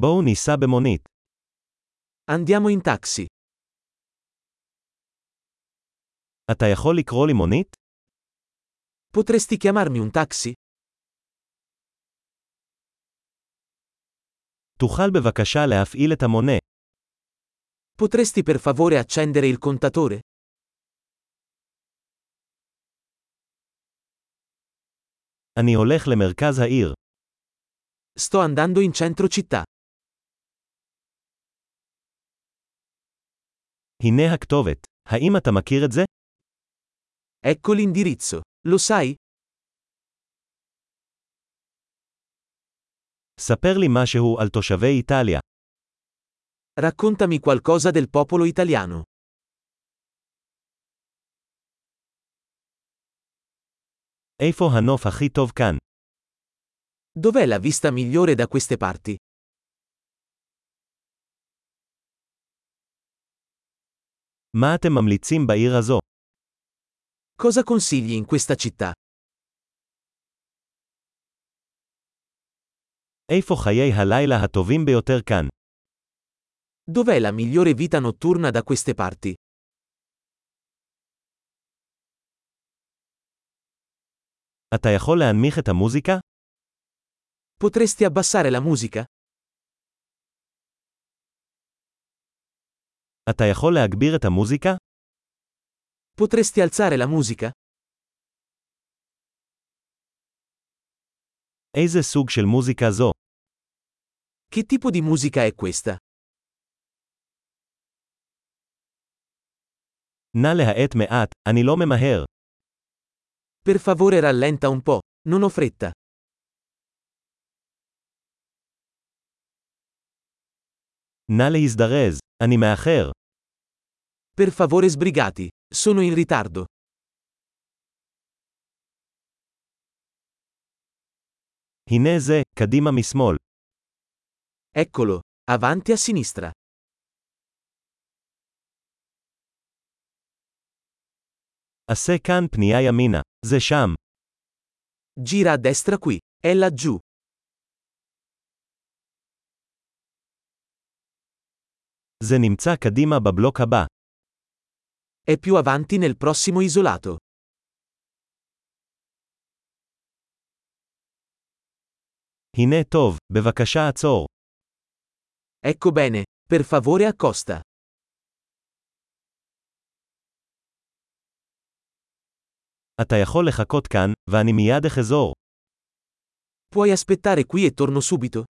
בואו ניסע במונית. Andiamo in taxi. אתה יכול לקרוא לי מונית? Potresti chiamarmi un taxi? תוכל בבקשה להפעיל את המונה. Potresti per favore accendere il contatore? אני הולך למרכז העיר. Sto andando in centro città. הנה הכתובת. האם אתה מכיר את זה? Ecco l'indirizzo. Lo sai? ספר לי משהו על תושבי איטליה. Raccontami qualcosa del popolo italiano. איפה הנוף הכי טוב כאן? Dov'è la vista migliore da queste parti? מה אתם ממליצים בעיר הזו? Cosa consigli in questa città? איפה חיי הלילה הטובים ביותר כאן? Dov'è la migliore vita notturna da queste parti? אתה יכול להנמיך את המוזיקה? Potresti abbassare la musica? אתה יכול להגביר את המוזיקה? Potresti alzare la musica? איזה סוג של מוזיקה זו? Che tipo di musica è questa? נא להאט מעט, אני לא ממהר. Per favore rallenta un po', non ho fretta. נא להזדרז, אני מאחר. Per favore sbrigati, sono in ritardo. הנה זה, קדימה משמאל. Eccolo, avanti a sinistra. עשה כאן פנייה ימינה. זה שם. Gira a destra qui, è laggiù. זה נמצא קדימה בבלוק הבא. È più avanti nel prossimo isolato. הנה טוב, בבקשה עצור. Ecco bene, per favore accosta. אתה יכול לחכות כאן, ואני מיד אחזור. Puoi aspettare qui e torno subito?